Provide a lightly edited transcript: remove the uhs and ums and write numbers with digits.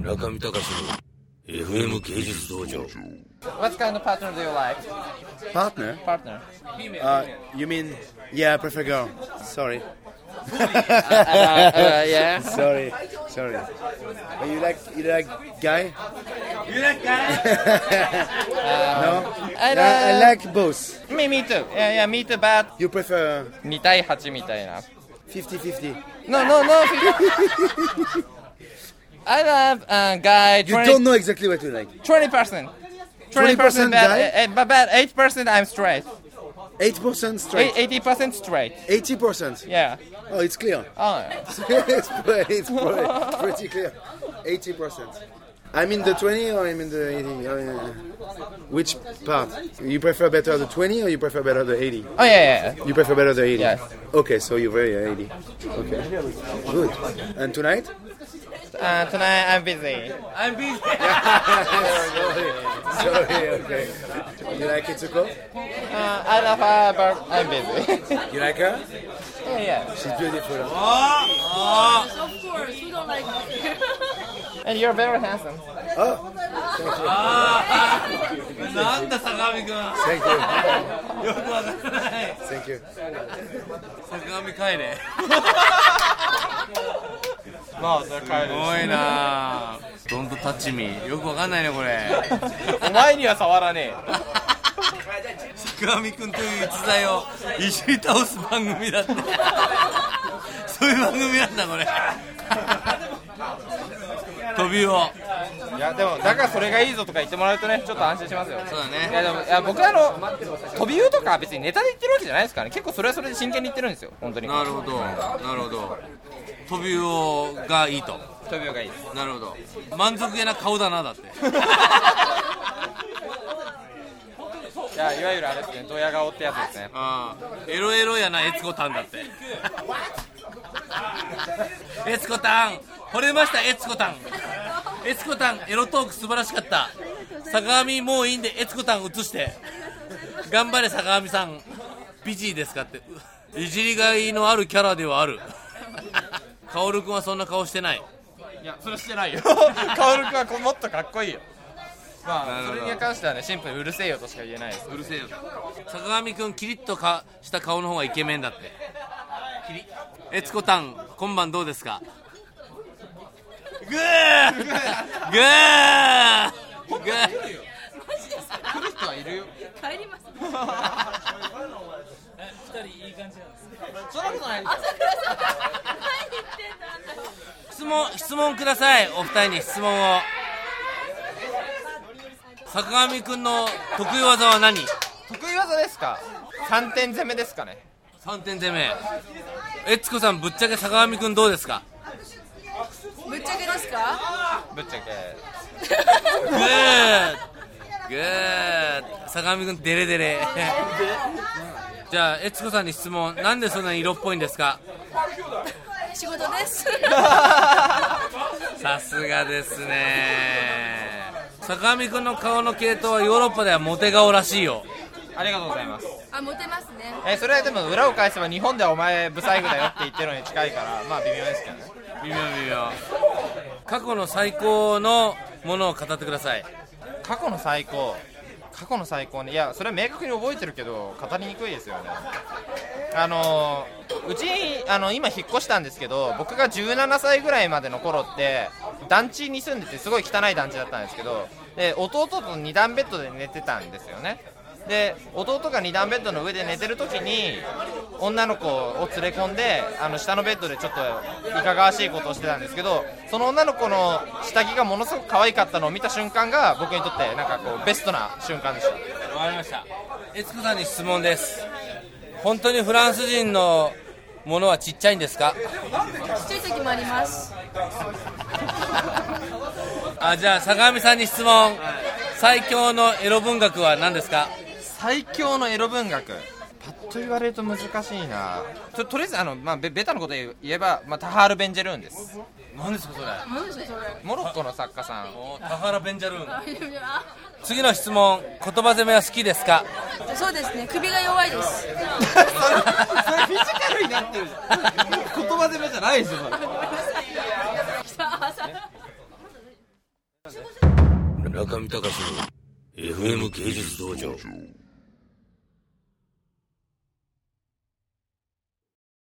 中見隆の FM 芸術道場。 What kind of partner do you like? Partner? Partner. You mean? Yeah, I prefer girl. Sorry. Yeah. Sorry. But you like guy? You like guy? No? I I like both. Me too. Yeah, me too, but You prefer 2対8みたいな。 50-50? No. I love guy You 20, don't know exactly what you like. 20%. 20% guy? But 8% I'm straight. 8% straight. 80% straight. 80%. Yeah. Oh, it's clear. Oh. it's pretty clear. 80%. I'm in the 20 or I'm in the 80? Oh, yeah. Which part? You prefer better the 20 or you prefer better the 80? Oh yeah. You prefer better the 80? Yes. Okay, so you're very 80. Okay. Good. And tonight? Tonight I'm busy. Sorry, okay. You like Itsuko? I love her, but I'm busy. You like her? Yeah. She's beautiful. Of course, we don't like it. And you're very handsome. Oh, thank you. なんだ坂上くん。 Thank you. よくわからない。 Thank you. 坂上帰れ。 まあ、それ帰る。 すごいな。ドントタッチミー。よくわかんないねこれ。 お前には触らねえ。 坂上くんという逸材をいじり倒す番組だって。そういう番組なんだこれ。飛びを。 いやでもだからそれがいいぞとか言ってもらうとねちょっと安心しますよ。 そうだね。 いやでも僕は飛び魚とか別にネタで言ってるわけじゃないですからね。結構それはそれで真剣に言ってるんですよ本当に。 なるほど。飛び魚がいいと。 飛び魚がいいです。 なるほど。満足げな顔だなだって。 いやいわゆるあれですねドヤ顔ってやつですね。 ああ、エロエロやなエツコタンだって。エツコタン惚れました。エツコタンエロトーク素晴らしかった。坂上もういいんでエツコタン映して頑張れ坂上さん美人ですかって。いじりがいのあるキャラではある。カオル君はそんな顔してない。 いやそれしてないよ。カオル君はもっとかっこいいよ。まあそれに関してはねシンプルにうるせえよとしか言えないです。 うるせえよ。坂上君キリッとした顔の方がイケメンだって。キリエツコタン今晩どうですか。グー来る人はいるよ。 帰ります。 2人いい感じなんです。そんなことない。 朝倉さん、何言ってんだ。 質問ください。お二人に質問を。坂上くんの得意技は何？ 得意技ですか。3点攻めですかね。 3点攻め。エツコさんぶっちゃけ坂上くんどうですか。 ぶっちゃけですか。 ぶっちゃけグー坂上くんデレデレ。じゃあエツコさんに質問。なんでそんなに色っぽいんですか。 仕事です。 さすがですね。坂上くんの顔の系統はヨーロッパではモテ顔らしいよ。 ありがとうございます。 あ、モテますね。 それはでも裏を返せば日本ではお前ブサイクだよって言ってるのに近いからまあ微妙ですけどね。 微妙。過去の最高のものを語ってください。 過去の最高ね。いやそれは明確に覚えてるけど語りにくいですよね。うち今引っ越したんですけど僕が17歳ぐらいまでの頃って団地に住んでてすごい汚い団地だったんですけどで弟と2段ベッドで寝てたんですよね。で弟が2段ベッドの上で寝てる時に女の子を連れ込んで下のベッドでちょっといかがわしいことをしてたんですけどその女の子の下着がものすごく可愛かったのを見た瞬間が僕にとってなんかこうベストな瞬間でした。 わかりました。エツコさんに質問です。本当にフランス人のものはちっちゃいんですか。 ちっちゃい時もあります。 じゃあ坂上さんに質問。最強のエロ文学は何ですか。 最強のエロ文学パッと言われると難しいな。とりあえずベタなこと言えば、タハール・ベンジェルーンです。 何ですかそれ。 何ですかそれ。 モロッコの作家さん。 タハラ・ベンジャルーン。次の質問。言葉攻めは好きですか。 そうですね。首が弱いです。 それフィジカルになってるじゃん。言葉攻めじゃないですよそれ。 中見隆の FM 芸術道場。